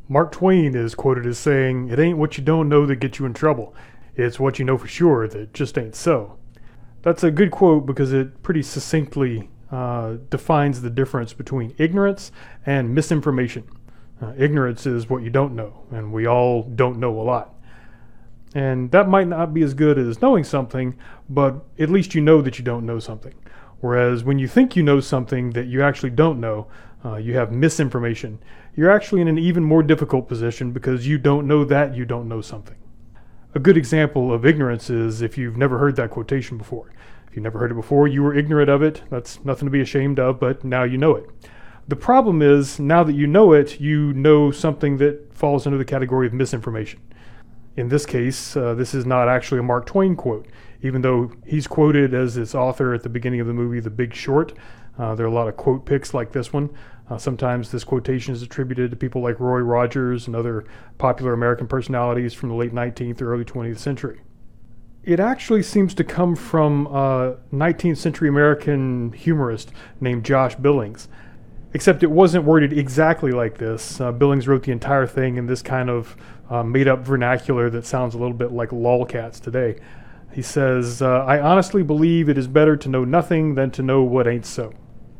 Mark Twain is quoted as saying, "It ain't what you don't know that gets you in trouble. It's what you know for sure that just ain't so." That's a good quote because it pretty succinctly defines the difference between ignorance and misinformation. Ignorance is what you don't know, and we all don't know a lot. And that might not be as good as knowing something, but at least you know that you don't know something. Whereas when you think you know something that you actually don't know, you have misinformation. You're actually in an even more difficult position because you don't know that you don't know something. A good example of ignorance is if you've never heard that quotation before. If you've never heard it before, you were ignorant of it. That's nothing to be ashamed of, but now you know it. The problem is, now that you know something that falls under the category of misinformation. In this case, this is not actually a Mark Twain quote, even though he's quoted as its author at the beginning of the movie The Big Short. There are a lot of quote picks like this one. Sometimes this quotation is attributed to people like Roy Rogers and other popular American personalities from the late 19th or early 20th century. It actually seems to come from a 19th century American humorist named Josh Billings, except it wasn't worded exactly like this. Billings wrote the entire thing in this kind of made-up vernacular that sounds a little bit like lolcats today. He says, "I honestly believe it is better to know nothing than to know what ain't so."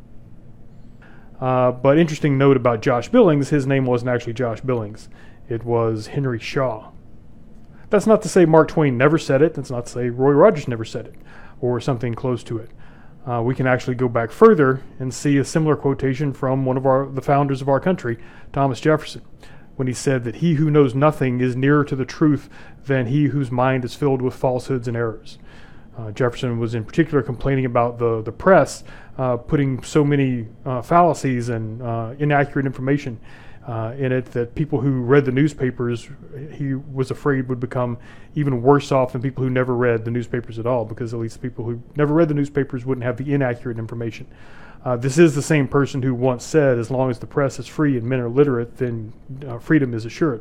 But interesting note about Josh Billings, his name wasn't actually Josh Billings. It was Henry Shaw. That's not to say Mark Twain never said it. That's not to say Roy Rogers never said it, or something close to it. We can actually go back further and see a similar quotation from one of the founders of our country, Thomas Jefferson, when he said that he who knows nothing is nearer to the truth than he whose mind is filled with falsehoods and errors. Jefferson was in particular complaining about the press putting so many fallacies and inaccurate information in it that people who read the newspapers, he was afraid would become even worse off than people who never read the newspapers at all, because at least the people who never read the newspapers wouldn't have the inaccurate information. This is the same person who once said, as long as the press is free and men are literate, then freedom is assured.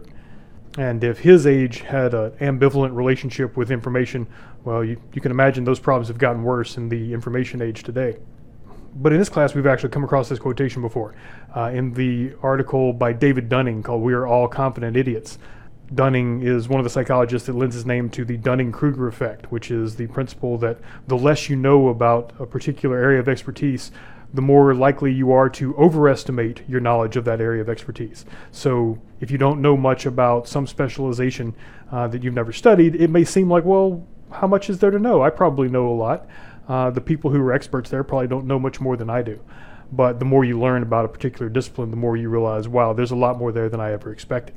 And if his age had an ambivalent relationship with information, well, you can imagine those problems have gotten worse in the information age today. But in this class, we've actually come across this quotation before in the article by David Dunning called "We Are All Confident Idiots." Dunning is one of the psychologists that lends his name to the Dunning-Kruger effect, which is the principle that the less you know about a particular area of expertise, the more likely you are to overestimate your knowledge of that area of expertise. So if you don't know much about some specialization that you've never studied, it may seem like, well, how much is there to know? I probably know a lot. The people who are experts there probably don't know much more than I do. But the more you learn about a particular discipline, the more you realize, wow, there's a lot more there than I ever expected.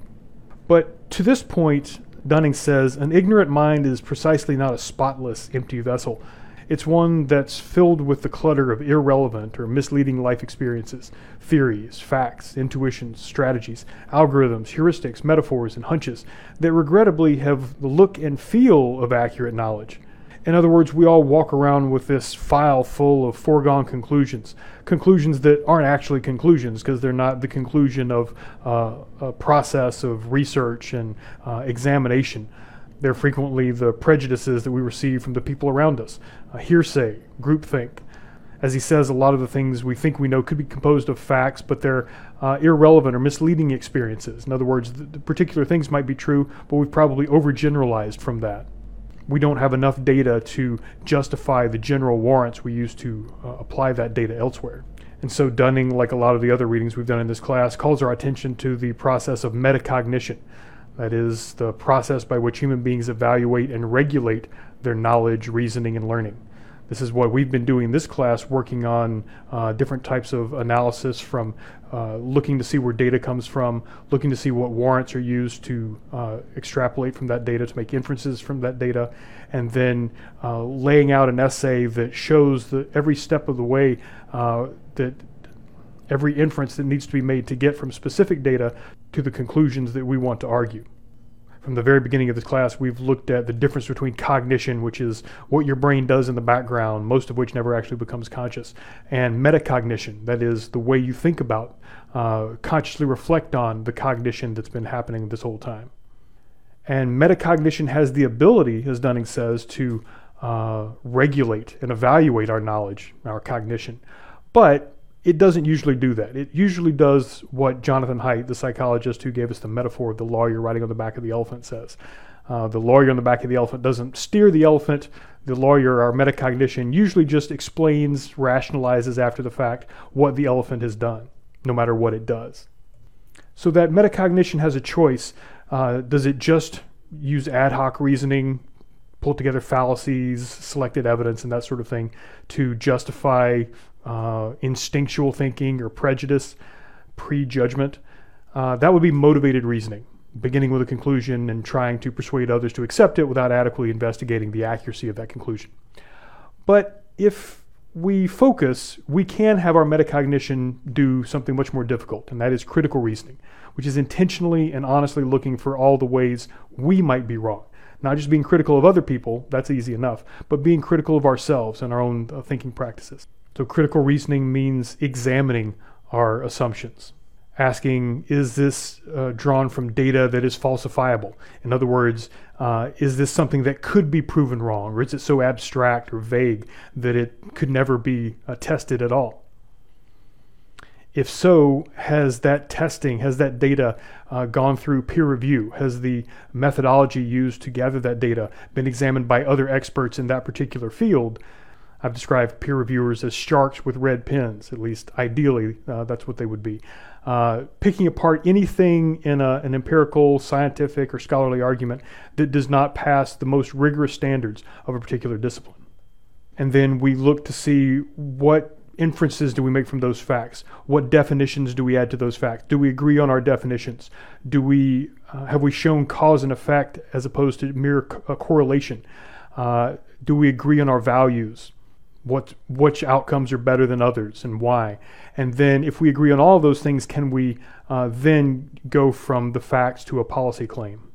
But to this point, Dunning says, an ignorant mind is precisely not a spotless, empty vessel. It's one that's filled with the clutter of irrelevant or misleading life experiences, theories, facts, intuitions, strategies, algorithms, heuristics, metaphors, and hunches that regrettably have the look and feel of accurate knowledge. In other words, we all walk around with this file full of foregone conclusions that aren't actually conclusions because they're not the conclusion of a process of research and examination. They're frequently the prejudices that we receive from the people around us, hearsay, groupthink. As he says, a lot of the things we think we know could be composed of facts, but they're irrelevant or misleading experiences. In other words, the particular things might be true, but we've probably overgeneralized from that. We don't have enough data to justify the general warrants we use to apply that data elsewhere. And so Dunning, like a lot of the other readings we've done in this class, calls our attention to the process of metacognition. That is the process by which human beings evaluate and regulate their knowledge, reasoning, and learning. This is what we've been doing in this class, working on different types of analysis, from looking to see where data comes from, looking to see what warrants are used to extrapolate from that data to make inferences from that data, and then laying out an essay that shows every step of the way that every inference that needs to be made to get from specific data to the conclusions that we want to argue. From the very beginning of this class, we've looked at the difference between cognition, which is what your brain does in the background, most of which never actually becomes conscious, and metacognition, that is the way you think about, consciously reflect on the cognition that's been happening this whole time. And metacognition has the ability, as Dunning says, to regulate and evaluate our knowledge, our cognition. But It doesn't usually do that. It usually does what Jonathan Haidt, the psychologist who gave us the metaphor of the lawyer riding on the back of the elephant, says. The lawyer on the back of the elephant doesn't steer the elephant. The lawyer, our metacognition, usually just explains, rationalizes after the fact what the elephant has done, no matter what it does. So that metacognition has a choice. Does it just use ad hoc reasoning, pull together fallacies, selected evidence, and that sort of thing to justify instinctual thinking or prejudice, prejudgment? That would be motivated reasoning, beginning with a conclusion and trying to persuade others to accept it without adequately investigating the accuracy of that conclusion. But if we focus, we can have our metacognition do something much more difficult, and that is critical reasoning, which is intentionally and honestly looking for all the ways we might be wrong. Not just being critical of other people, that's easy enough, but being critical of ourselves and our own thinking practices. So critical reasoning means examining our assumptions. Asking, is this drawn from data that is falsifiable? In other words, is this something that could be proven wrong, or is it so abstract or vague that it could never be tested at all? If so, has that testing, has that data gone through peer review? Has the methodology used to gather that data been examined by other experts in that particular field? I've described peer reviewers as sharks with red pens, at least ideally that's what they would be. Picking apart anything in an empirical, scientific, or scholarly argument that does not pass the most rigorous standards of a particular discipline. And then we look to see what inferences do we make from those facts? What definitions do we add to those facts? Do we agree on our definitions? Have we shown cause and effect as opposed to mere correlation? Do we agree on our values? Which outcomes are better than others and why? And then if we agree on all of those things, can we then go from the facts to a policy claim?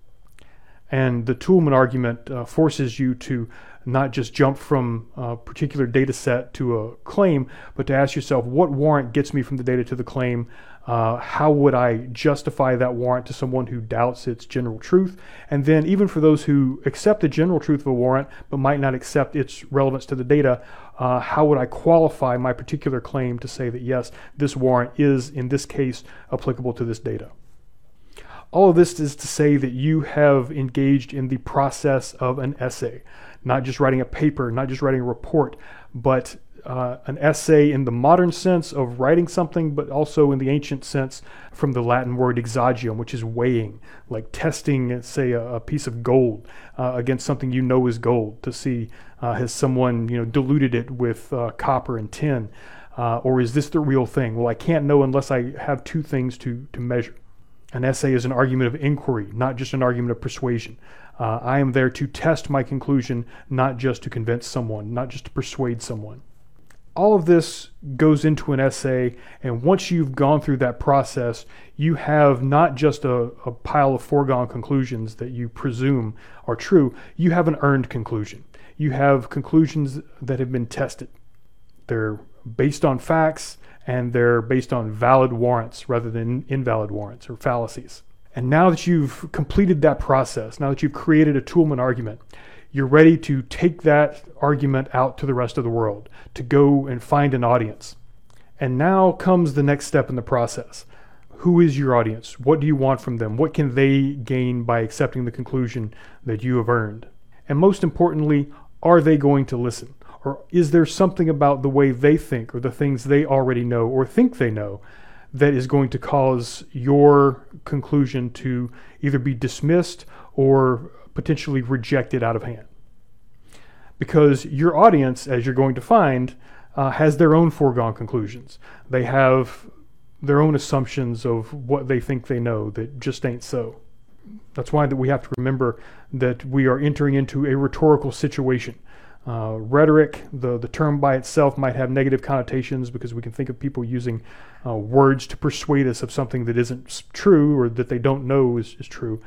And the Toulmin argument forces you to not just jump from a particular data set to a claim, but to ask yourself, what warrant gets me from the data to the claim? How would I justify that warrant to someone who doubts its general truth? And then even for those who accept the general truth of a warrant, but might not accept its relevance to the data, how would I qualify my particular claim to say that yes, this warrant is, in this case, applicable to this data? All of this is to say that you have engaged in the process of an essay, not just writing a paper, not just writing a report, but an essay in the modern sense of writing something, but also in the ancient sense from the Latin word exagium, which is weighing, like testing, say, a piece of gold against something you know is gold to see has someone diluted it with copper and tin, or is this the real thing? Well, I can't know unless I have two things to measure. An essay is an argument of inquiry, not just an argument of persuasion. I am there to test my conclusion, not just to convince someone, not just to persuade someone. All of this goes into an essay, and once you've gone through that process, you have not just a pile of foregone conclusions that you presume are true, you have an earned conclusion. You have conclusions that have been tested. They're based on facts, and they're based on valid warrants rather than invalid warrants or fallacies. And now that you've completed that process, now that you've created a Toulmin argument, you're ready to take that argument out to the rest of the world, to go and find an audience. And now comes the next step in the process. Who is your audience? What do you want from them? What can they gain by accepting the conclusion that you have earned? And most importantly, are they going to listen? Or is there something about the way they think or the things they already know or think they know that is going to cause your conclusion to either be dismissed or potentially rejected out of hand? Because your audience, as you're going to find, has their own foregone conclusions. They have their own assumptions of what they think they know that just ain't so. That's why that we have to remember that we are entering into a rhetorical situation. Rhetoric, the term by itself might have negative connotations because we can think of people using words to persuade us of something that isn't true or that they don't know is true.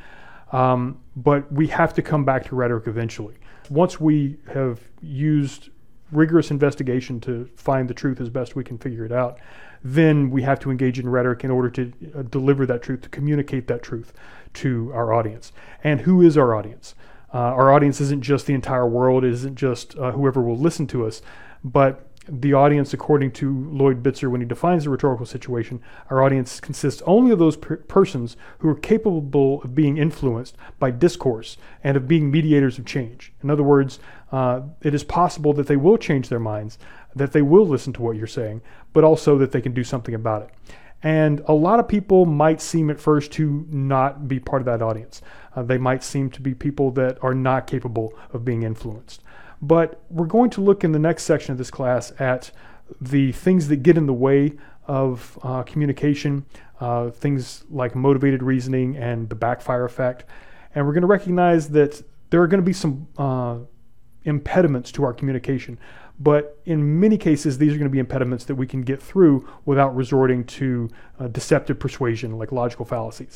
But we have to come back to rhetoric eventually. Once we have used rigorous investigation to find the truth as best we can figure it out, then we have to engage in rhetoric in order to deliver that truth, to communicate that truth to our audience. And who is our audience? Our audience isn't just the entire world, it isn't just whoever will listen to us, but The audience, according to Lloyd Bitzer, when he defines the rhetorical situation, our audience consists only of those persons who are capable of being influenced by discourse and of being mediators of change. In other words, it is possible that they will change their minds, that they will listen to what you're saying, but also that they can do something about it. And a lot of people might seem at first to not be part of that audience. They might seem to be people that are not capable of being influenced. But we're going to look in the next section of this class at the things that get in the way of communication, things like motivated reasoning and the backfire effect. And we're going to recognize that there are going to be some impediments to our communication. But in many cases, these are going to be impediments that we can get through without resorting to deceptive persuasion like logical fallacies.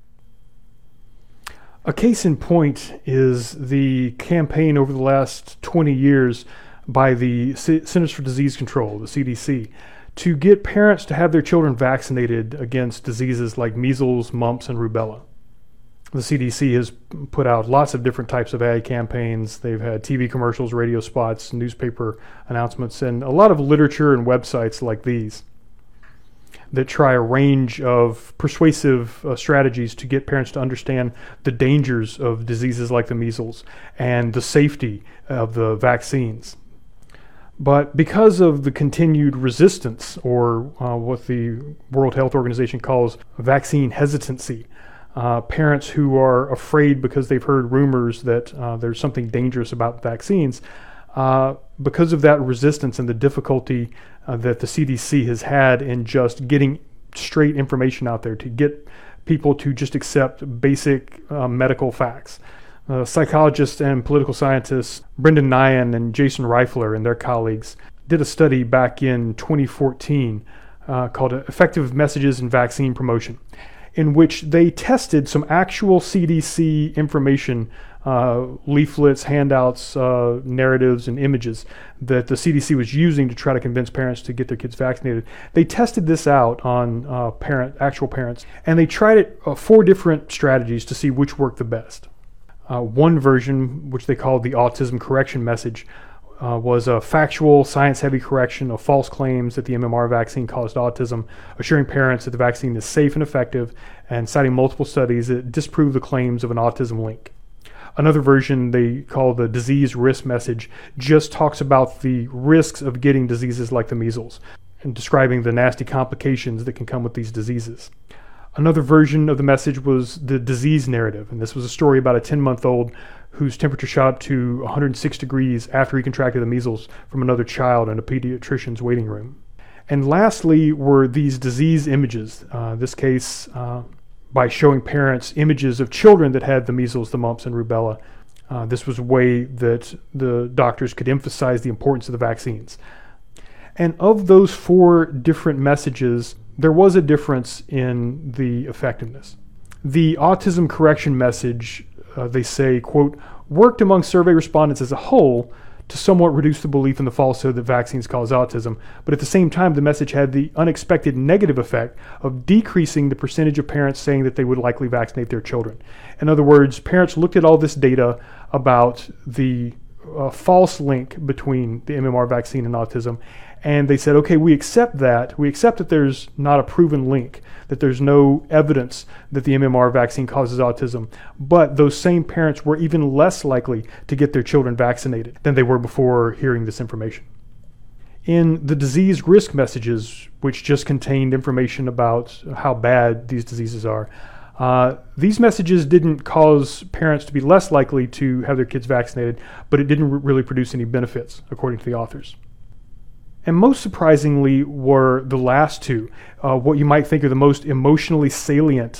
A case in point is the campaign over the last 20 years by the Centers for Disease Control, the CDC, to get parents to have their children vaccinated against diseases like measles, mumps, and rubella. The CDC has put out lots of different types of ad campaigns. They've had TV commercials, radio spots, newspaper announcements, and a lot of literature and websites like these that try a range of persuasive strategies to get parents to understand the dangers of diseases like the measles and the safety of the vaccines. But because of the continued resistance, or what the World Health Organization calls vaccine hesitancy, parents who are afraid because they've heard rumors that there's something dangerous about vaccines, because of that resistance and the difficulty that the CDC has had in just getting straight information out there to get people to just accept basic medical facts. Psychologists and political scientists Brendan Nyhan and Jason Reifler and their colleagues did a study back in 2014 called Effective Messages in Vaccine Promotion, in which they tested some actual CDC information, leaflets, handouts, narratives, and images that the CDC was using to try to convince parents to get their kids vaccinated. They tested this out on actual parents, and they tried it 4 different strategies to see which worked the best. One version, which they called the autism correction message, was a factual, science-heavy correction of false claims that the MMR vaccine caused autism, assuring parents that the vaccine is safe and effective, and citing multiple studies that disprove the claims of an autism link. Another version they call the disease risk message just talks about the risks of getting diseases like the measles and describing the nasty complications that can come with these diseases. Another version of the message was the disease narrative, and this was a story about a 10-month-old whose temperature shot up to 106 degrees after he contracted the measles from another child in a pediatrician's waiting room. And lastly were these disease images, this case by showing parents images of children that had the measles, the mumps, and rubella. This was a way that the doctors could emphasize the importance of the vaccines. And of those 4 different messages, there was a difference in the effectiveness. The autism correction message, they say, quote, worked among survey respondents as a whole to somewhat reduce the belief in the falsehood that vaccines cause autism, but at the same time, the message had the unexpected negative effect of decreasing the percentage of parents saying that they would likely vaccinate their children. In other words, parents looked at all this data about the false link between the MMR vaccine and autism, and they said, okay, we accept that. We accept that there's not a proven link, that there's no evidence that the MMR vaccine causes autism. But those same parents were even less likely to get their children vaccinated than they were before hearing this information. In the disease risk messages, which just contained information about how bad these diseases are, these messages didn't cause parents to be less likely to have their kids vaccinated, but it didn't really produce any benefits, according to the authors. And most surprisingly were the last 2, what you might think are the most emotionally salient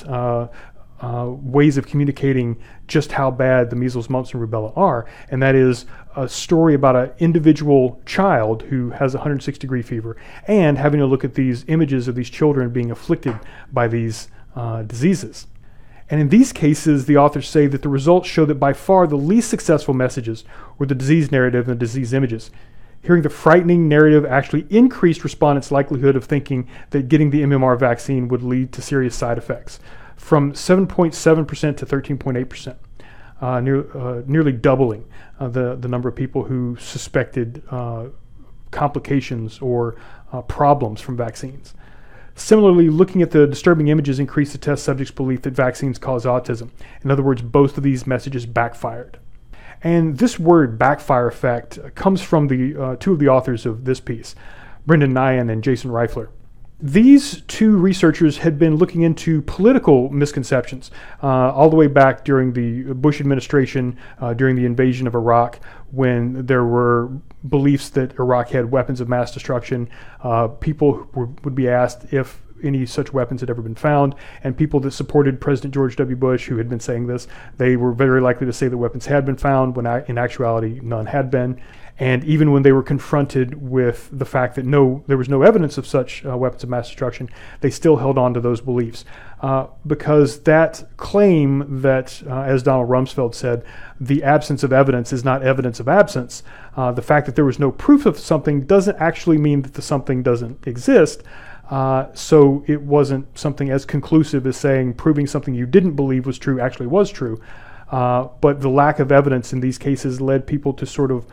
ways of communicating just how bad the measles, mumps, and rubella are. And that is a story about an individual child who has a 106-degree fever and having to look at these images of these children being afflicted by these diseases. And in these cases, the authors say that the results show that by far the least successful messages were the disease narrative and the disease images. Hearing the frightening narrative actually increased respondents' likelihood of thinking that getting the MMR vaccine would lead to serious side effects, from 7.7% to 13.8%, nearly doubling the number of people who suspected complications or problems from vaccines. Similarly, looking at the disturbing images increased the test subjects' belief that vaccines cause autism. In other words, both of these messages backfired. And this word, backfire effect, comes from the two of the authors of this piece, Brendan Nyhan and Jason Reifler. These two researchers had been looking into political misconceptions all the way back during the Bush administration, during the invasion of Iraq, when there were beliefs that Iraq had weapons of mass destruction. People would be asked if any such weapons had ever been found, and people that supported President George W. Bush, who had been saying this, they were very likely to say that weapons had been found, when in actuality none had been. And even when they were confronted with the fact that there was no evidence of such weapons of mass destruction, they still held on to those beliefs. Because that claim that, as Donald Rumsfeld said, the absence of evidence is not evidence of absence. The fact that there was no proof of something doesn't actually mean that the something doesn't exist. So it wasn't something as conclusive as saying proving something you didn't believe was true actually was true. But the lack of evidence in these cases led people to sort of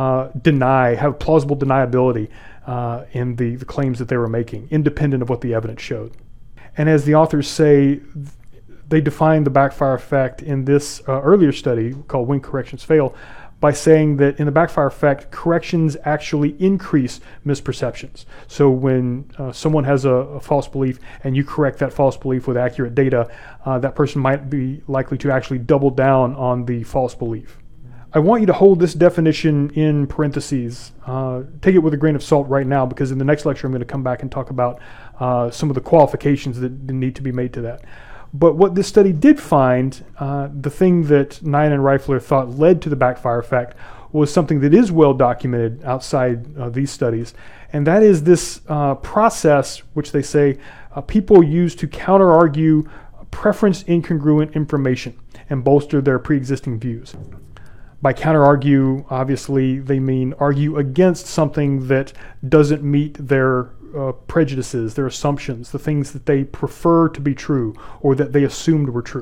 have plausible deniability in the claims that they were making, independent of what the evidence showed. And as the authors say, they defined the backfire effect in this earlier study called When Corrections Fail by saying that in the backfire effect, corrections actually increase misperceptions. So when someone has a false belief and you correct that false belief with accurate data, that person might be likely to actually double down on the false belief. I want you to hold this definition in parentheses. Take it with a grain of salt right now, because in the next lecture I'm going to come back and talk about some of the qualifications that need to be made to that. But what this study did find, the thing that Nyhan and Reifler thought led to the backfire effect, was something that is well documented outside these studies, and that is this process which they say people use to counter-argue preference incongruent information and bolster their pre-existing views. By counter-argue, obviously, they mean argue against something that doesn't meet their prejudices, their assumptions, the things that they prefer to be true or that they assumed were true.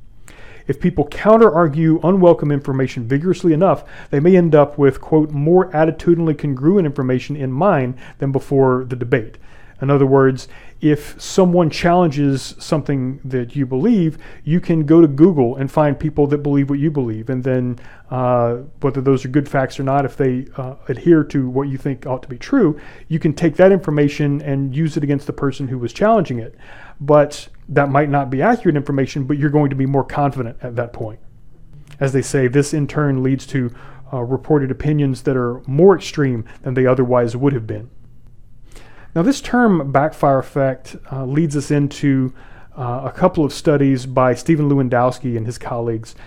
If people counter-argue unwelcome information vigorously enough, they may end up with, quote, more attitudinally congruent information in mind than before the debate. In other words, if someone challenges something that you believe, you can go to Google and find people that believe what you believe, and then whether those are good facts or not, if they adhere to what you think ought to be true, you can take that information and use it against the person who was challenging it. But that might not be accurate information, but you're going to be more confident at that point. As they say, this in turn leads to reported opinions that are more extreme than they otherwise would have been. Now, this term backfire effect leads us into a couple of studies by Stephen Lewandowski and his colleagues,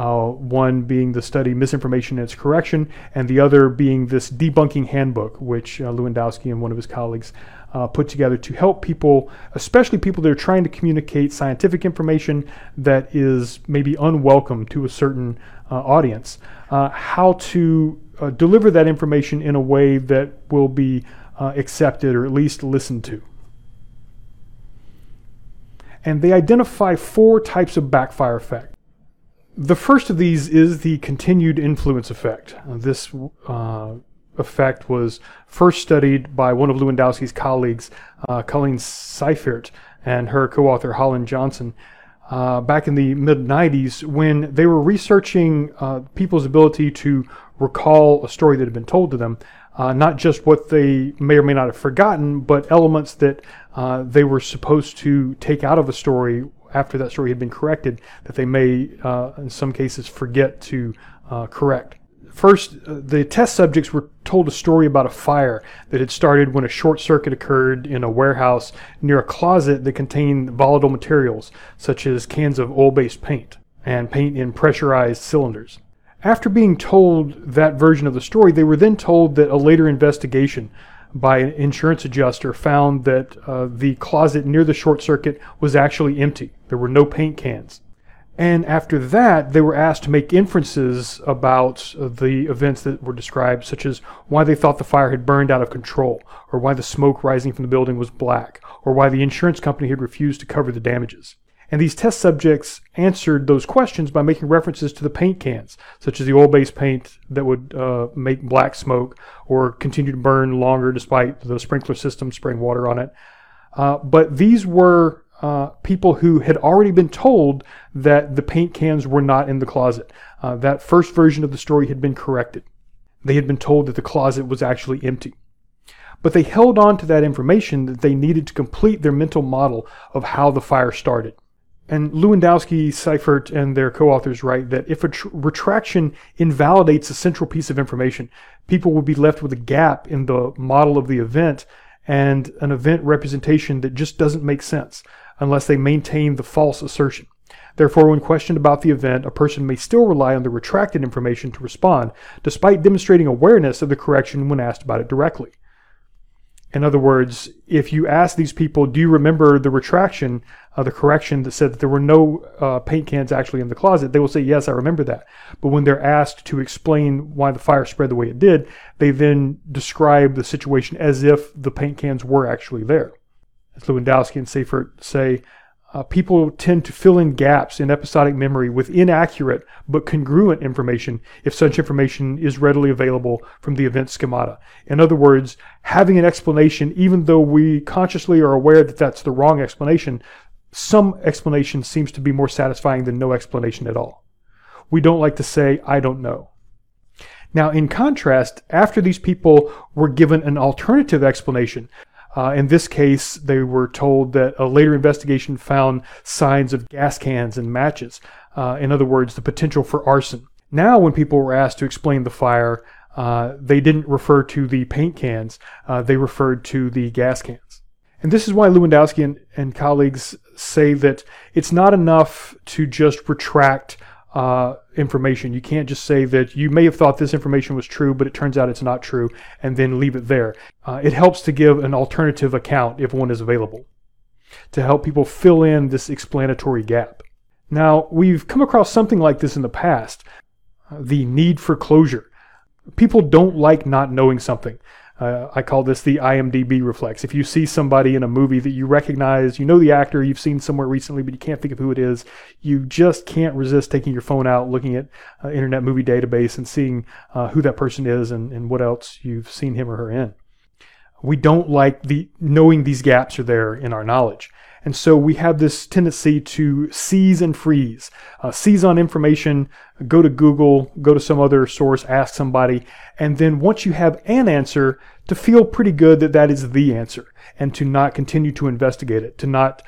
one being the study Misinformation and Its Correction, and the other being this debunking handbook, which Lewandowski and one of his colleagues put together to help people, especially people that are trying to communicate scientific information that is maybe unwelcome to a certain audience, how to deliver that information in a way that will be accepted or at least listened to. And they identify 4 types of backfire effect. The first of these is the continued influence effect. This effect was first studied by one of Lewandowski's colleagues, Colleen Seifert, and her co-author Holland Johnson back in the mid-90s, when they were researching people's ability to recall a story that had been told to them. Not just what they may or may not have forgotten, but elements that they were supposed to take out of a story after that story had been corrected that they may, in some cases, forget to correct. First, the test subjects were told a story about a fire that had started when a short circuit occurred in a warehouse near a closet that contained volatile materials, such as cans of oil-based paint and paint in pressurized cylinders. After being told that version of the story, they were then told that a later investigation by an insurance adjuster found that the closet near the short circuit was actually empty. There were no paint cans. And after that, they were asked to make inferences about the events that were described, such as why they thought the fire had burned out of control, or why the smoke rising from the building was black, or why the insurance company had refused to cover the damages. And these test subjects answered those questions by making references to the paint cans, such as the oil-based paint that would make black smoke or continue to burn longer despite the sprinkler system spraying water on it. But these were people who had already been told that the paint cans were not in the closet. That first version of the story had been corrected. They had been told that the closet was actually empty. But they held on to that information that they needed to complete their mental model of how the fire started. And Lewandowski, Seifert, and their co-authors write that if a retraction invalidates a central piece of information, people will be left with a gap in the model of the event and an event representation that just doesn't make sense unless they maintain the false assertion. Therefore, when questioned about the event, a person may still rely on the retracted information to respond, despite demonstrating awareness of the correction when asked about it directly. In other words, if you ask these people, do you remember the retraction, the correction that said that there were no paint cans actually in the closet, they will say, yes, I remember that. But when they're asked to explain why the fire spread the way it did, they then describe the situation as if the paint cans were actually there. As Lewandowski and Seifert say, people tend to fill in gaps in episodic memory with inaccurate but congruent information if such information is readily available from the event schemata. In other words, having an explanation, even though we consciously are aware that that's the wrong explanation, some explanation seems to be more satisfying than no explanation at all. We don't like to say, I don't know. Now, in contrast, after these people were given an alternative explanation, in this case, they were told that a later investigation found signs of gas cans and matches. In other words, the potential for arson. Now, when people were asked to explain the fire, they didn't refer to the paint cans. They referred to the gas cans. And this is why Lewandowski and colleagues say that it's not enough to just retract information. You can't just say that you may have thought this information was true, but it turns out it's not true, and then leave it there. It helps to give an alternative account if one is available, to help people fill in this explanatory gap. Now, we've come across something like this in the past, the need for closure. People don't like not knowing something. I call this the IMDb reflex. If you see somebody in a movie that you recognize, you know the actor, you've seen somewhere recently, but you can't think of who it is, you just can't resist taking your phone out, looking at Internet Movie Database and seeing who that person is and what else you've seen him or her in. We don't like knowing these gaps are there in our knowledge. And so we have this tendency to seize and freeze. Seize on information, go to Google, go to some other source, ask somebody, and then once you have an answer, to feel pretty good that that is the answer, and to not continue to investigate it, to not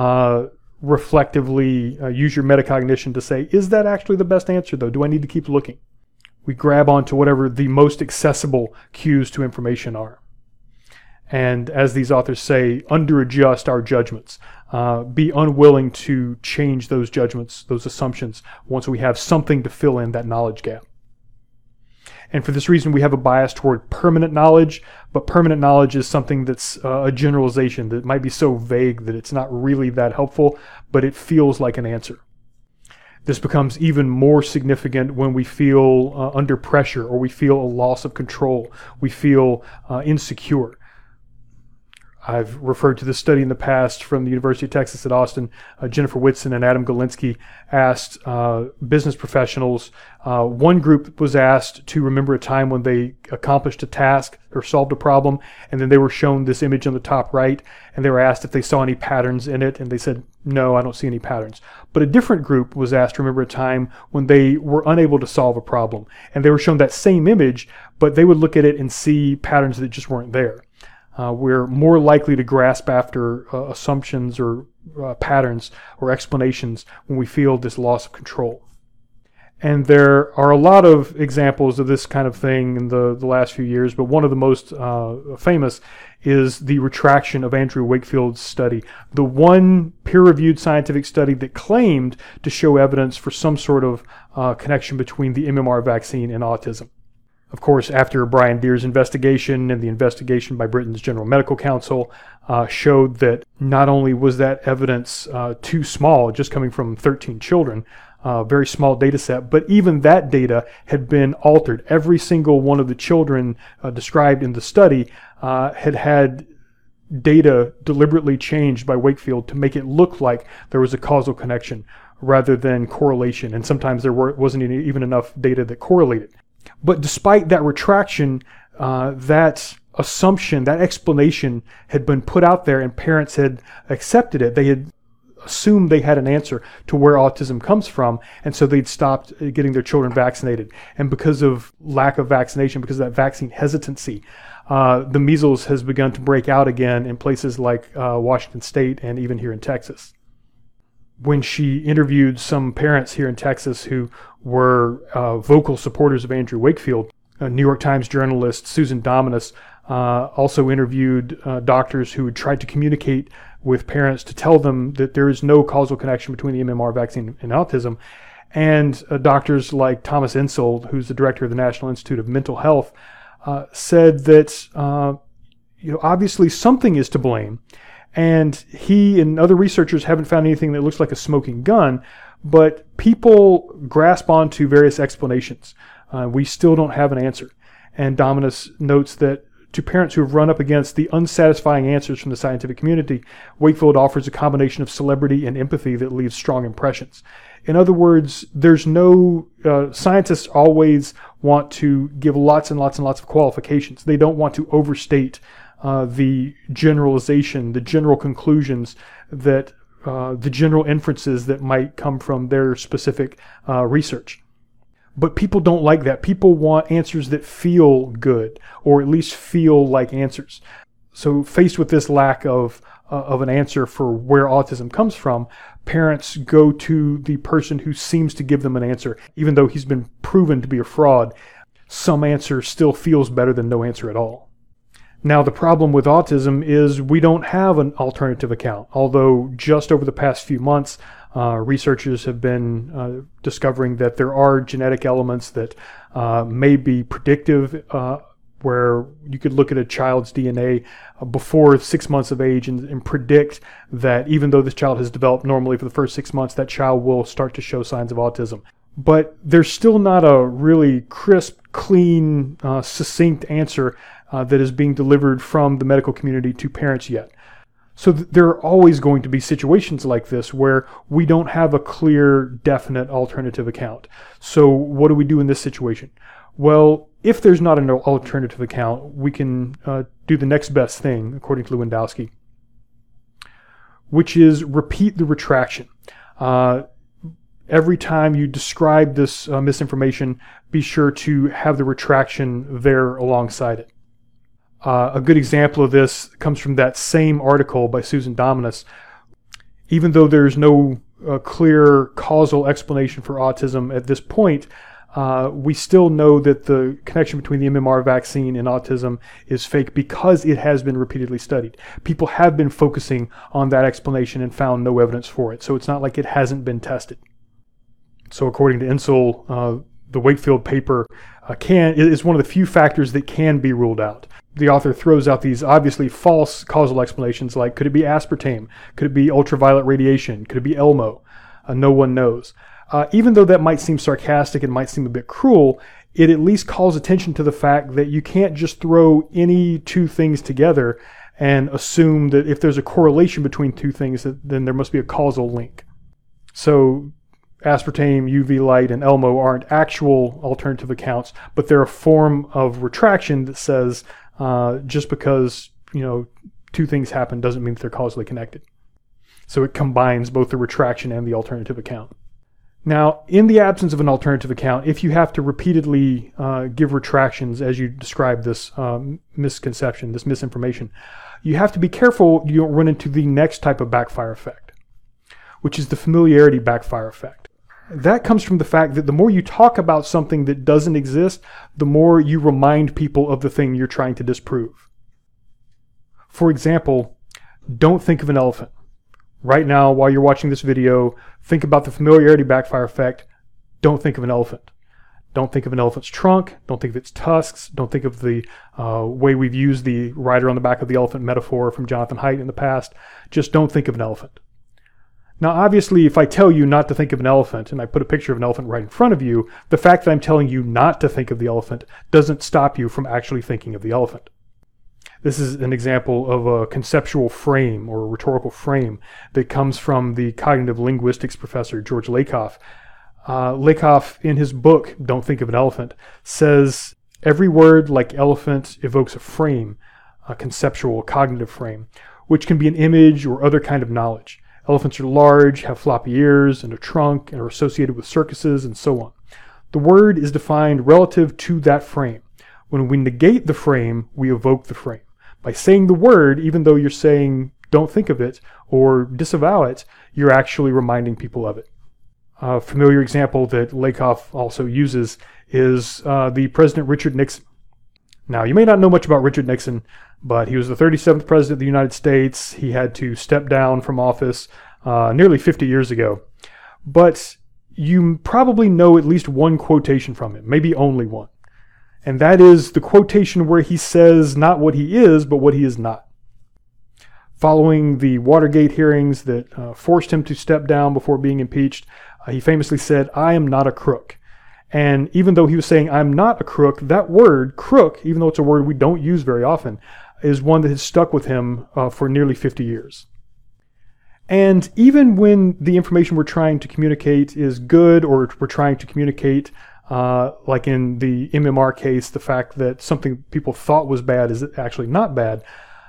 reflectively use your metacognition to say, is that actually the best answer though? Do I need to keep looking? We grab onto whatever the most accessible cues to information are. And as these authors say, under-adjust our judgments. Be unwilling to change those judgments, those assumptions, once we have something to fill in that knowledge gap. And for this reason, we have a bias toward permanent knowledge, but permanent knowledge is something that's a generalization that might be so vague that it's not really that helpful, but it feels like an answer. This becomes even more significant when we feel under pressure, or we feel a loss of control, we feel insecure. I've referred to this study in the past from the University of Texas at Austin. Jennifer Whitson and Adam Galinsky asked business professionals. One group was asked to remember a time when they accomplished a task or solved a problem, and then they were shown this image on the top right, and they were asked if they saw any patterns in it, and they said, no, I don't see any patterns. But a different group was asked to remember a time when they were unable to solve a problem, and they were shown that same image, but they would look at it and see patterns that just weren't there. We're more likely to grasp after assumptions or patterns or explanations when we feel this loss of control. And there are a lot of examples of this kind of thing in the last few years, but one of the most famous is the retraction of Andrew Wakefield's study, the one peer-reviewed scientific study that claimed to show evidence for some sort of connection between the MMR vaccine and autism. Of course, after Brian Deer's investigation and the investigation by Britain's General Medical Council showed that not only was that evidence too small, just coming from 13 children, very small data set, but even that data had been altered. Every single one of the children described in the study had data deliberately changed by Wakefield to make it look like there was a causal connection rather than correlation. And sometimes there wasn't even enough data that correlated. But despite that retraction, that assumption, that explanation had been put out there and parents had accepted it. They had assumed they had an answer to where autism comes from, and so they'd stopped getting their children vaccinated. And because of lack of vaccination, because of that vaccine hesitancy, the measles has begun to break out again in places like Washington State and even here in Texas. When she interviewed some parents here in Texas who were vocal supporters of Andrew Wakefield, New York Times journalist Susan Dominus also interviewed doctors who had tried to communicate with parents to tell them that there is no causal connection between the MMR vaccine and autism. And doctors like Thomas Insold, who's the director of the National Institute of Mental Health, said that obviously something is to blame. And he and other researchers haven't found anything that looks like a smoking gun, but people grasp onto various explanations. We still don't have an answer. And Dominus notes that to parents who have run up against the unsatisfying answers from the scientific community, Wakefield offers a combination of celebrity and empathy that leaves strong impressions. In other words, there's no, scientists always want to give lots and lots and lots of qualifications. They don't want to overstate the generalization, the general conclusions that, the general inferences that might come from their specific research. But people don't like that. People want answers that feel good, or at least feel like answers. So faced with this lack of an answer for where autism comes from, parents go to the person who seems to give them an answer. Even though he's been proven to be a fraud, some answer still feels better than no answer at all. Now, the problem with autism is we don't have an alternative account, although just over the past few months, researchers have been discovering that there are genetic elements that may be predictive, where you could look at a child's DNA before 6 months of age and predict that even though this child has developed normally for the first 6 months, that child will start to show signs of autism. But there's still not a really crisp, clean, succinct answer that is being delivered from the medical community to parents yet. So there are always going to be situations like this where we don't have a clear, definite alternative account. So what do we do in this situation? Well, if there's not an alternative account, we can do the next best thing, according to Lewandowski, which is repeat the retraction. Every time you describe this misinformation, be sure to have the retraction there alongside it. A good example of this comes from that same article by Susan Dominus. Even though there's no clear causal explanation for autism at this point, we still know that the connection between the MMR vaccine and autism is fake because it has been repeatedly studied. People have been focusing on that explanation and found no evidence for it, so it's not like it hasn't been tested. So according to Insold, the Wakefield paper is one of the few factors that can be ruled out. The author throws out these obviously false causal explanations like, could it be aspartame? Could it be ultraviolet radiation? Could it be Elmo? No one knows. Even though that might seem sarcastic and might seem a bit cruel, it at least calls attention to the fact that you can't just throw any two things together and assume that if there's a correlation between two things, then there must be a causal link. So aspartame, UV light, and Elmo aren't actual alternative accounts, but they're a form of retraction that says just because two things happen doesn't mean that they're causally connected. So it combines both the retraction and the alternative account. Now, in the absence of an alternative account, if you have to repeatedly give retractions as you describe this misconception, this misinformation, you have to be careful you don't run into the next type of backfire effect, which is the familiarity backfire effect. That comes from the fact that the more you talk about something that doesn't exist, the more you remind people of the thing you're trying to disprove. For example, don't think of an elephant. Right now, while you're watching this video, think about the familiarity backfire effect. Don't think of an elephant. Don't think of an elephant's trunk. Don't think of its tusks. Don't think of the way we've used the rider on the back of the elephant metaphor from Jonathan Haidt in the past. Just don't think of an elephant. Now, obviously, if I tell you not to think of an elephant and I put a picture of an elephant right in front of you, the fact that I'm telling you not to think of the elephant doesn't stop you from actually thinking of the elephant. This is an example of a conceptual frame or a rhetorical frame that comes from the cognitive linguistics professor, George Lakoff. Lakoff, in his book, Don't Think of an Elephant, says every word like elephant evokes a frame, a conceptual, cognitive frame, which can be an image or other kind of knowledge. Elephants are large, have floppy ears and a trunk, and are associated with circuses and so on. The word is defined relative to that frame. When we negate the frame, we evoke the frame. By saying the word, even though you're saying don't think of it or disavow it, you're actually reminding people of it. A familiar example that Lakoff also uses is the President Richard Nixon. Now, you may not know much about Richard Nixon, but he was the 37th President of the United States. He had to step down from office nearly 50 years ago. But you probably know at least one quotation from him, maybe only one. And that is the quotation where he says not what he is, but what he is not. Following the Watergate hearings that forced him to step down before being impeached, he famously said, "I am not a crook." And even though he was saying, "I'm not a crook," that word, crook, even though it's a word we don't use very often, is one that has stuck with him for nearly 50 years. And even when the information we're trying to communicate is good, or we're trying to communicate, like in the MMR case, the fact that something people thought was bad is actually not bad,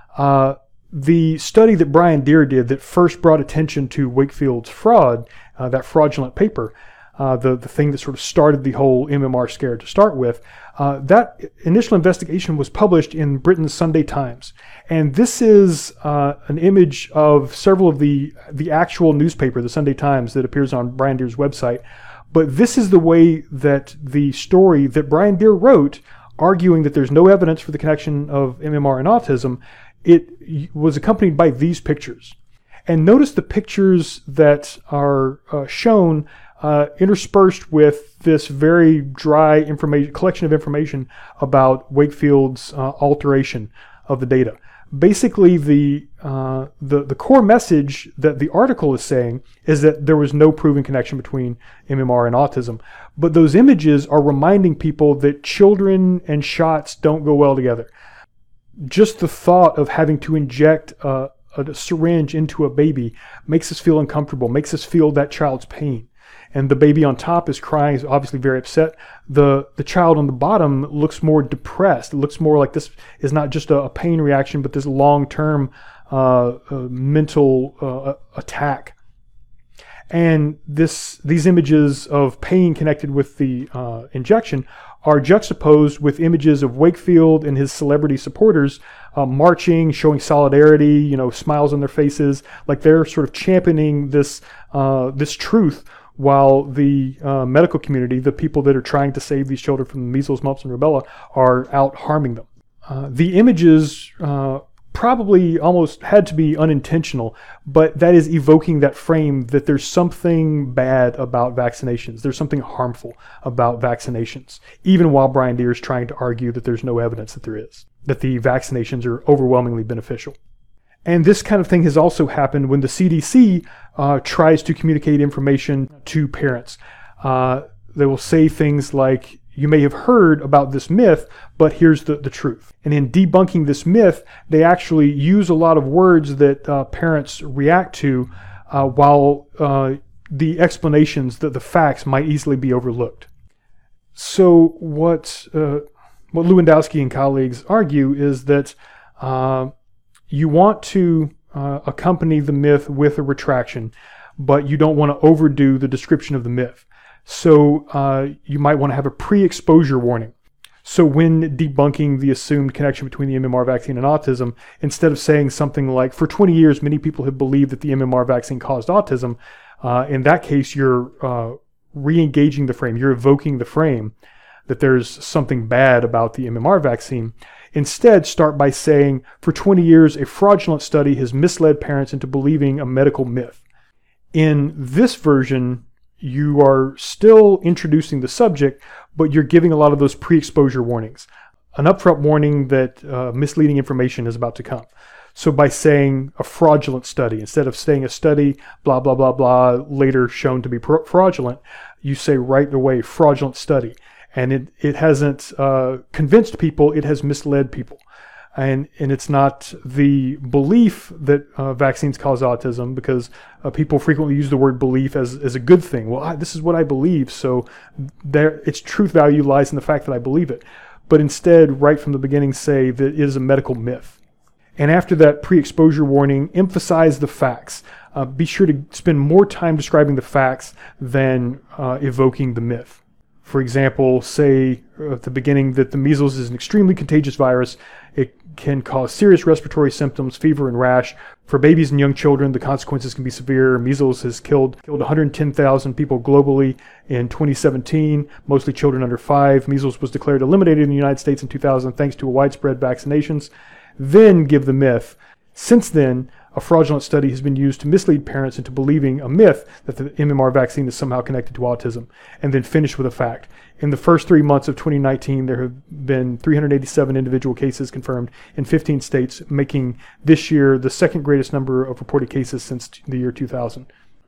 the study that Brian Deer did that first brought attention to Wakefield's fraud, that fraudulent paper, the thing that sort of started the whole MMR scare to start with, that initial investigation was published in Britain's Sunday Times. And this is an image of several of the actual newspaper, the Sunday Times, that appears on Brian Deer's website. But this is the way that the story that Brian Deer wrote, arguing that there's no evidence for the connection of MMR and autism, it was accompanied by these pictures. And notice the pictures that are shown interspersed with this very dry collection of information about Wakefield's alteration of the data. Basically, the core message that the article is saying is that there was no proven connection between MMR and autism. But those images are reminding people that children and shots don't go well together. Just the thought of having to inject a syringe into a baby makes us feel uncomfortable, makes us feel that child's pain. And the baby on top is crying, is obviously very upset. The child on the bottom looks more depressed. It looks more like this is not just a pain reaction, but this long-term mental attack. And these images of pain connected with the injection are juxtaposed with images of Wakefield and his celebrity supporters marching, showing solidarity, smiles on their faces, like they're sort of championing this truth, while the medical community, the people that are trying to save these children from measles, mumps, and rubella, are out harming them. The images probably almost had to be unintentional, but that is evoking that frame that there's something bad about vaccinations. There's something harmful about vaccinations, even while Brian Deer is trying to argue that there's no evidence that there is, that the vaccinations are overwhelmingly beneficial. And this kind of thing has also happened when the CDC tries to communicate information to parents. They will say things like, "You may have heard about this myth, but here's the truth." And in debunking this myth, they actually use a lot of words that parents react to, while the explanations, the facts, might easily be overlooked. So what Lewandowski and colleagues argue is that you want to accompany the myth with a retraction, but you don't want to overdo the description of the myth. So you might want to have a pre-exposure warning. So when debunking the assumed connection between the MMR vaccine and autism, instead of saying something like, "For 20 years, many people have believed that the MMR vaccine caused autism," in that case, you're re-engaging the frame. You're evoking the frame that there's something bad about the MMR vaccine. Instead, start by saying, "For 20 years, a fraudulent study has misled parents into believing a medical myth." In this version, you are still introducing the subject, but you're giving a lot of those pre-exposure warnings. An upfront warning that misleading information is about to come. So by saying a fraudulent study, instead of saying a study, blah, blah, blah, blah, later shown to be fraudulent, you say right away, fraudulent study. And it hasn't convinced people, it has misled people. And it's not the belief that vaccines cause autism, because people frequently use the word belief as a good thing. Well, this is what I believe, so its truth value lies in the fact that I believe it. But instead, right from the beginning, say that it is a medical myth. And after that pre-exposure warning, emphasize the facts. Be sure to spend more time describing the facts than evoking the myth. For example, say at the beginning that the measles is an extremely contagious virus. It can cause serious respiratory symptoms, fever and rash. For babies and young children, the consequences can be severe. Measles has killed 110,000 people globally in 2017, mostly children under 5. Measles was declared eliminated in the United States in 2000 thanks to widespread vaccinations. Then give the myth. Since then, a fraudulent study has been used to mislead parents into believing a myth that the MMR vaccine is somehow connected to autism, and then finish with a fact. In the first 3 months of 2019, there have been 387 individual cases confirmed in 15 states, making this year the second greatest number of reported cases since the year 2000.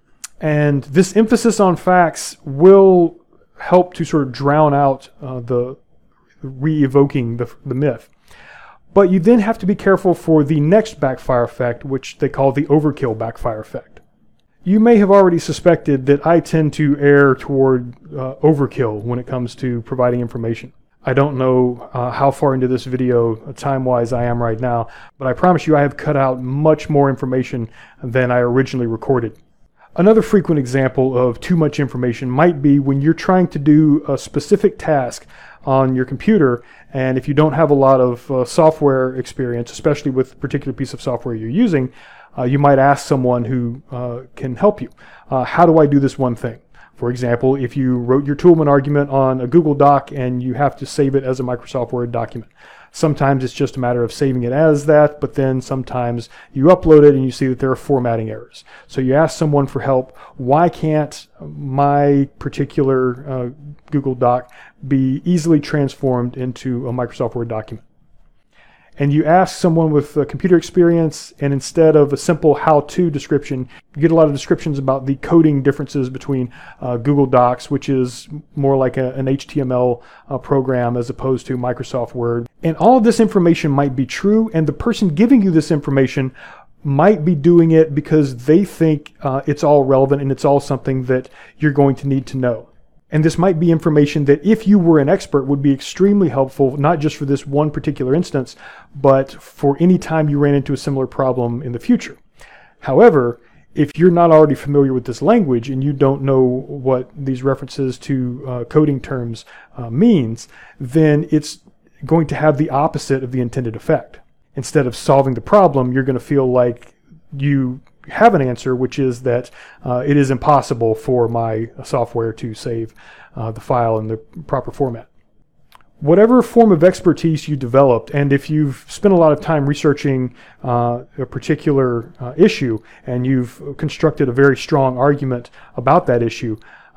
And this emphasis on facts will help to sort of drown out the re-evoking the myth. But you then have to be careful for the next backfire effect, which they call the overkill backfire effect. You may have already suspected that I tend to err toward overkill when it comes to providing information. I don't know how far into this video time-wise I am right now, but I promise you I have cut out much more information than I originally recorded. Another frequent example of too much information might be when you're trying to do a specific task on your computer, and if you don't have a lot of software experience, especially with a particular piece of software you're using, you might ask someone who can help you. How do I do this one thing? For example, if you wrote your Toolman argument on a Google Doc and you have to save it as a Microsoft Word document. Sometimes it's just a matter of saving it as that, but then sometimes you upload it and you see that there are formatting errors. So you ask someone for help. Why can't my particular Google Doc be easily transformed into a Microsoft Word document? And you ask someone with computer experience, and instead of a simple how-to description, you get a lot of descriptions about the coding differences between Google Docs, which is more like an HTML program as opposed to Microsoft Word. And all of this information might be true, and the person giving you this information might be doing it because they think it's all relevant and it's all something that you're going to need to know. And this might be information that if you were an expert would be extremely helpful, not just for this one particular instance, but for any time you ran into a similar problem in the future. However, if you're not already familiar with this language and you don't know what these references to coding terms means, then it's going to have the opposite of the intended effect. Instead of solving the problem, you're going to feel like you have an answer, which is that it is impossible for my software to save the file in the proper format. Whatever form of expertise you developed, and if you've spent a lot of time researching a particular issue and you've constructed a very strong argument about that issue,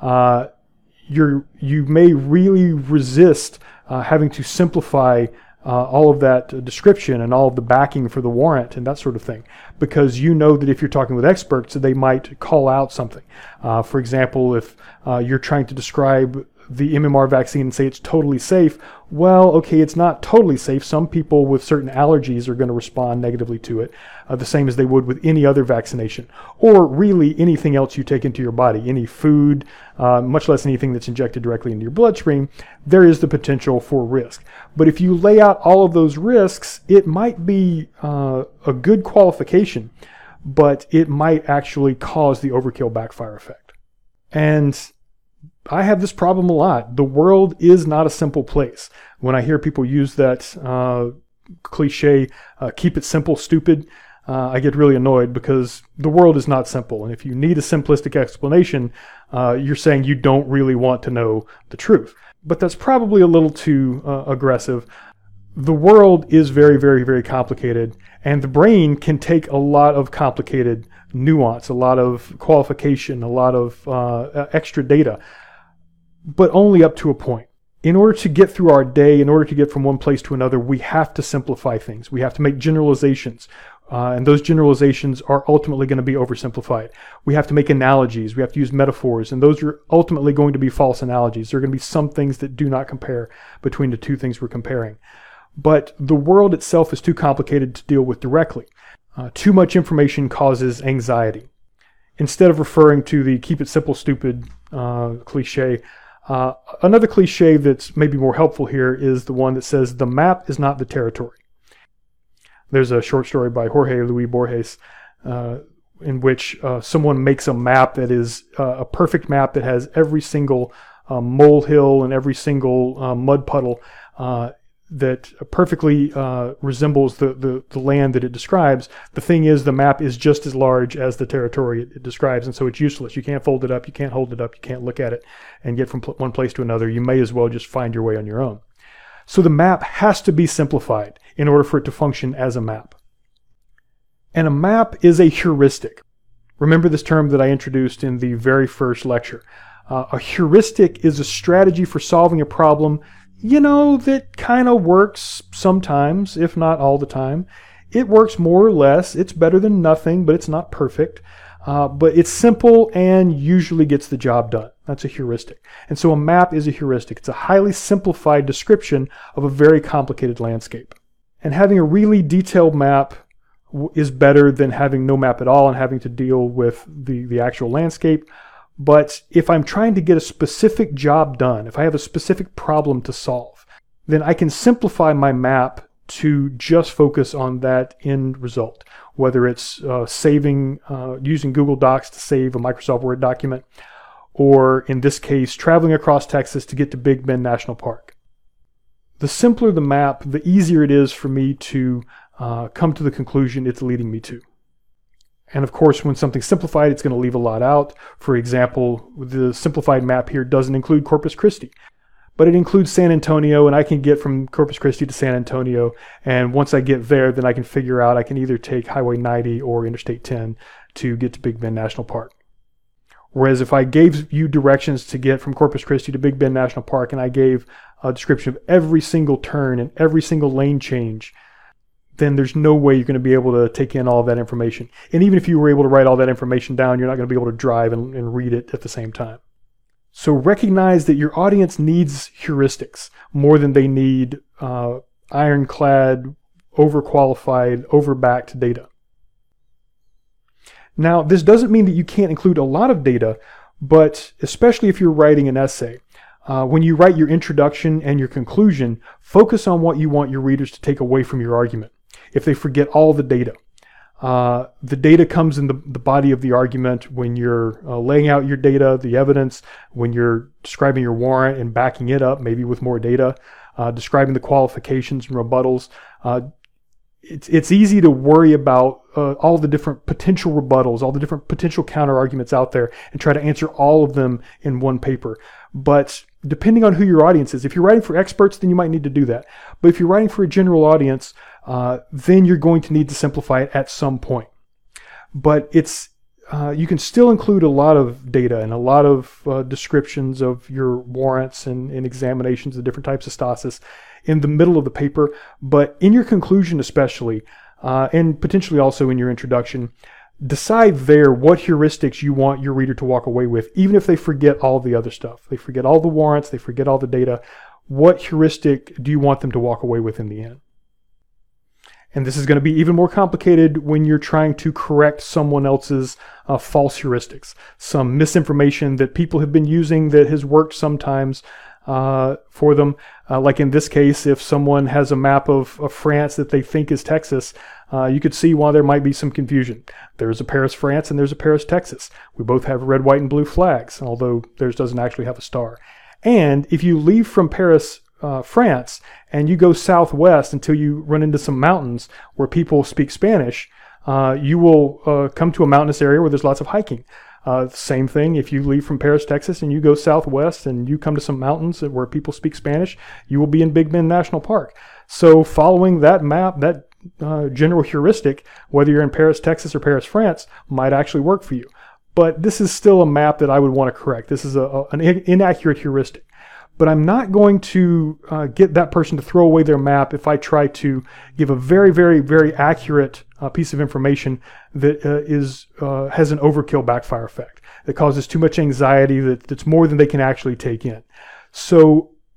you may really resist having to simplify all of that description and all of the backing for the warrant and that sort of thing, because you know that if you're talking with experts, they might call out something. For example, if you're trying to describe the MMR vaccine and say it's totally safe, well, okay, it's not totally safe. Some people with certain allergies are going to respond negatively to it, the same as they would with any other vaccination, or really anything else you take into your body, any food, much less anything that's injected directly into your bloodstream. There is the potential for risk. But if you lay out all of those risks, it might be a good qualification, but it might actually cause the overkill backfire effect. And I have this problem a lot. The world is not a simple place. When I hear people use that cliche, keep it simple, stupid, I get really annoyed because the world is not simple. And if you need a simplistic explanation, you're saying you don't really want to know the truth. But that's probably a little too aggressive. The world is very, very, very complicated, and the brain can take a lot of complicated nuance, a lot of qualification, a lot of extra data, but only up to a point. In order to get through our day, in order to get from one place to another, we have to simplify things. We have to make generalizations. And those generalizations are ultimately going to be oversimplified. We have to make analogies. We have to use metaphors. And those are ultimately going to be false analogies. There are going to be some things that do not compare between the two things we're comparing. but the world itself is too complicated to deal with directly. Too much information causes anxiety. Instead of referring to the keep it simple, stupid cliche, another cliche that's maybe more helpful here is the one that says the map is not the territory. There's a short story by Jorge Luis Borges in which someone makes a map that is a perfect map that has every single molehill and every single mud puddle that perfectly resembles the land that it describes. The thing is, the map is just as large as the territory it describes, and so it's useless. You can't fold it up, you can't hold it up, you can't look at it and get from one place to another. You may as well just find your way on your own. So the map has to be simplified in order for it to function as a map. And a map is a heuristic. Remember this term that I introduced in the very first lecture. A heuristic is a strategy for solving a problem, that kind of works sometimes, if not all the time. It works more or less. It's better than nothing, but it's not perfect. But it's simple and usually gets the job done. That's a heuristic. And so a map is a heuristic. It's a highly simplified description of a very complicated landscape. And having a really detailed map is better than having no map at all and having to deal with the actual landscape. But if I'm trying to get a specific job done, if I have a specific problem to solve, then I can simplify my map to just focus on that end result, whether it's using Google Docs to save a Microsoft Word document, or in this case, traveling across Texas to get to Big Bend National Park. The simpler the map, the easier it is for me to come to the conclusion it's leading me to. And of course, when something's simplified, it's going to leave a lot out. For example, the simplified map here doesn't include Corpus Christi, but it includes San Antonio, and I can get from Corpus Christi to San Antonio. And once I get there, then I can figure out I can either take Highway 90 or Interstate 10 to get to Big Bend National Park. Whereas if I gave you directions to get from Corpus Christi to Big Bend National Park, and I gave a description of every single turn and every single lane change, then there's no way you're going to be able to take in all of that information. And even if you were able to write all that information down, you're not going to be able to drive and read it at the same time. So recognize that your audience needs heuristics more than they need ironclad, overqualified, overbacked data. Now, this doesn't mean that you can't include a lot of data, but especially if you're writing an essay, when you write your introduction and your conclusion, focus on what you want your readers to take away from your argument. If they forget all the data comes in the body of the argument when you're laying out your data, the evidence, when you're describing your warrant and backing it up, maybe with more data, describing the qualifications and rebuttals. It's easy to worry about all the different potential rebuttals, all the different potential counter arguments out there, and try to answer all of them in one paper. But depending on who your audience is, if you're writing for experts, then you might need to do that. But if you're writing for a general audience, then you're going to need to simplify it at some point. But you can still include a lot of data and a lot of descriptions of your warrants and examinations of different types of stasis in the middle of the paper. But in your conclusion especially, and potentially also in your introduction, decide there what heuristics you want your reader to walk away with, even if they forget all the other stuff. They forget all the warrants, they forget all the data. What heuristic do you want them to walk away with in the end? And this is going to be even more complicated when you're trying to correct someone else's false heuristics. Some misinformation that people have been using that has worked sometimes for them. Like in this case, if someone has a map of France that they think is Texas, you could see why there might be some confusion. There's a Paris, France, and there's a Paris, Texas. We both have red, white, and blue flags, although theirs doesn't actually have a star. And if you leave from Paris, France, and you go southwest until you run into some mountains where people speak Spanish, you will come to a mountainous area where there's lots of hiking. Same thing, if you leave from Paris, Texas, and you go southwest and you come to some mountains where people speak Spanish, you will be in Big Bend National Park. So following that map, that general heuristic, whether you're in Paris, Texas, or Paris, France, might actually work for you. But this is still a map that I would want to correct. This is an inaccurate heuristic. But I'm not going to get that person to throw away their map if I try to give a very, very, very accurate piece of information that has an overkill backfire effect, that causes too much anxiety, that's more than they can actually take in. So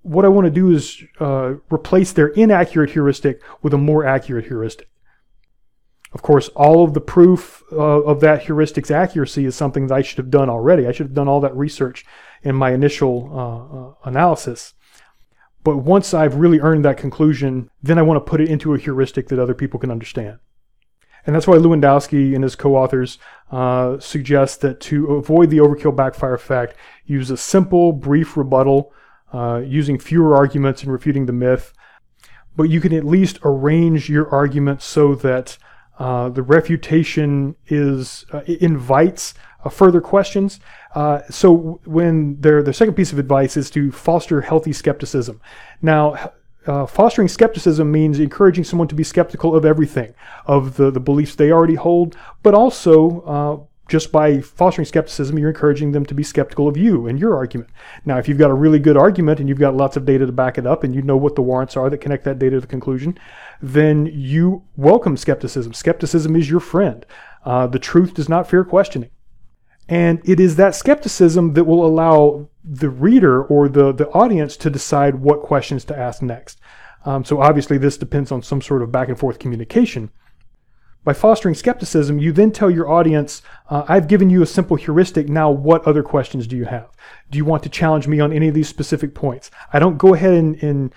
what I want to do is replace their inaccurate heuristic with a more accurate heuristic. Of course, all of the proof of that heuristic's accuracy is something that I should have done already. I should have done all that research in my initial analysis. But once I've really earned that conclusion, then I want to put it into a heuristic that other people can understand. And that's why Lewandowski and his co-authors suggest that to avoid the overkill backfire effect, use a simple, brief rebuttal, using fewer arguments and refuting the myth. But you can at least arrange your argument so that the refutation invites further questions. So when the second piece of advice is to foster healthy skepticism. Now, fostering skepticism means encouraging someone to be skeptical of everything, of the beliefs they already hold, but also just by fostering skepticism, you're encouraging them to be skeptical of you and your argument. Now, if you've got a really good argument and you've got lots of data to back it up and you know what the warrants are that connect that data to the conclusion, then you welcome skepticism. Skepticism is your friend. The truth does not fear questioning. And it is that skepticism that will allow the reader or the audience to decide what questions to ask next. So obviously this depends on some sort of back and forth communication. By fostering skepticism, you then tell your audience, I've given you a simple heuristic, now what other questions do you have? Do you want to challenge me on any of these specific points? I don't go ahead and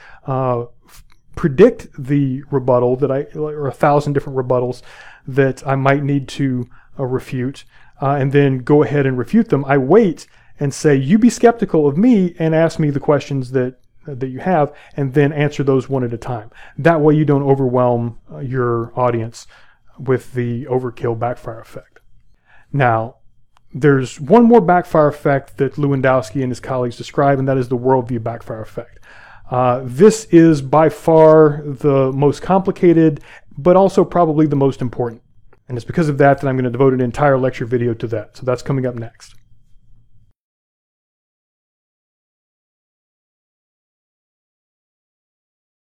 predict the rebuttal or 1,000 different rebuttals that I might need to refute, and then go ahead and refute them. I wait and say, you be skeptical of me and ask me the questions that you have, and then answer those one at a time. That way you don't overwhelm your audience with the overkill backfire effect. Now, there's one more backfire effect that Lewandowski and his colleagues describe, and that is the worldview backfire effect. This is by far the most complicated, but also probably the most important. And it's because of that I'm going to devote an entire lecture video to that. So that's coming up next.